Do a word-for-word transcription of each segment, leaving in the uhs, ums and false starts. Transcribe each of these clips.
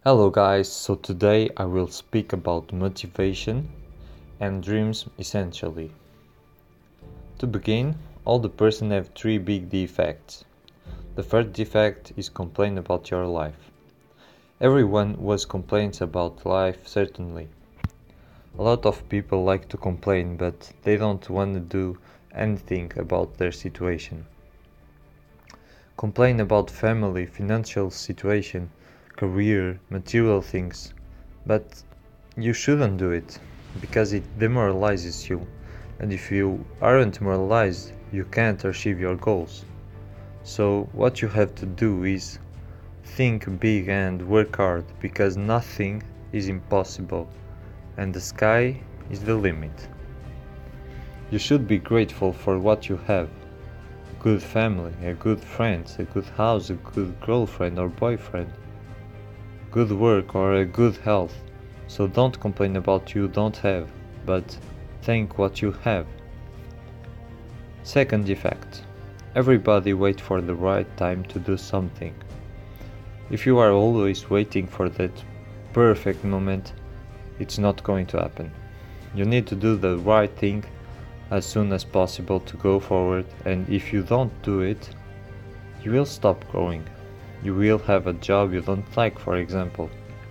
Hello guys, so today I will speak about motivation and dreams essentially. To begin, all the person have three big defects. The first defect is complain about your life. Everyone was complains about life certainly. A lot of people like to complain but they don't want to do anything about their situation. Complain about family, financial situation, career, material things, but you shouldn't do it because it demoralizes you, and if you aren't demoralized you can't achieve your goals. So what you have to do is think big and work hard because nothing is impossible and the sky is the limit. You should be grateful for what you have. A good family, a good friends, a good house, a good girlfriend or boyfriend, good work or a good health. So don't complain about you don't have, but thank what you have. Second defect. Everybody waits for the right time to do something. If you are always waiting for that perfect moment, it's not going to happen. You need to do the right thing as soon as possible to go forward, and if you don't do it, you will stop growing. You will have a job you don't like, for example.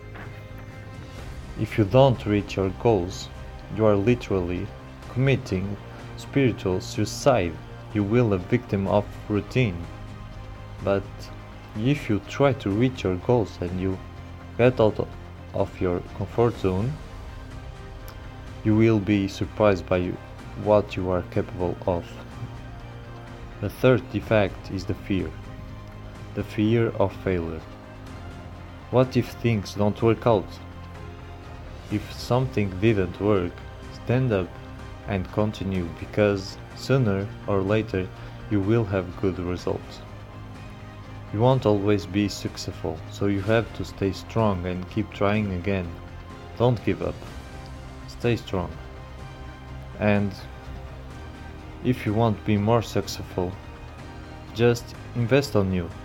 If you don't reach your goals, you are literally committing spiritual suicide. You will be a victim of routine. But if you try to reach your goals and you get out of your comfort zone, you will be surprised by what you are capable of. The third defect is the fear. The fear of failure. What if things don't work out? If something didn't work, stand up and continue because sooner or later you will have good results. You won't always be successful, so you have to stay strong and keep trying again. Don't give up. Stay strong. And if you want to be more successful, just invest on you.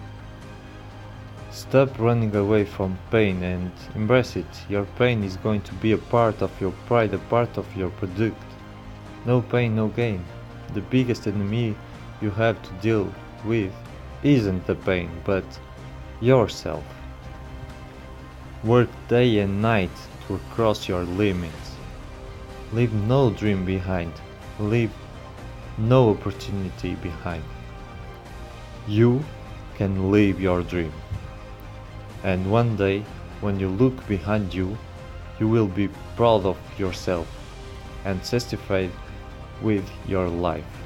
Stop running away from pain and embrace it. Your pain is going to be a part of your pride, a part of your product. No pain, no gain. The biggest enemy you have to deal with isn't the pain, but yourself. Work day and night to cross your limits. Leave no dream behind. Leave no opportunity behind. You can live your dream. And one day, when you look behind you, you will be proud of yourself and satisfied with your life.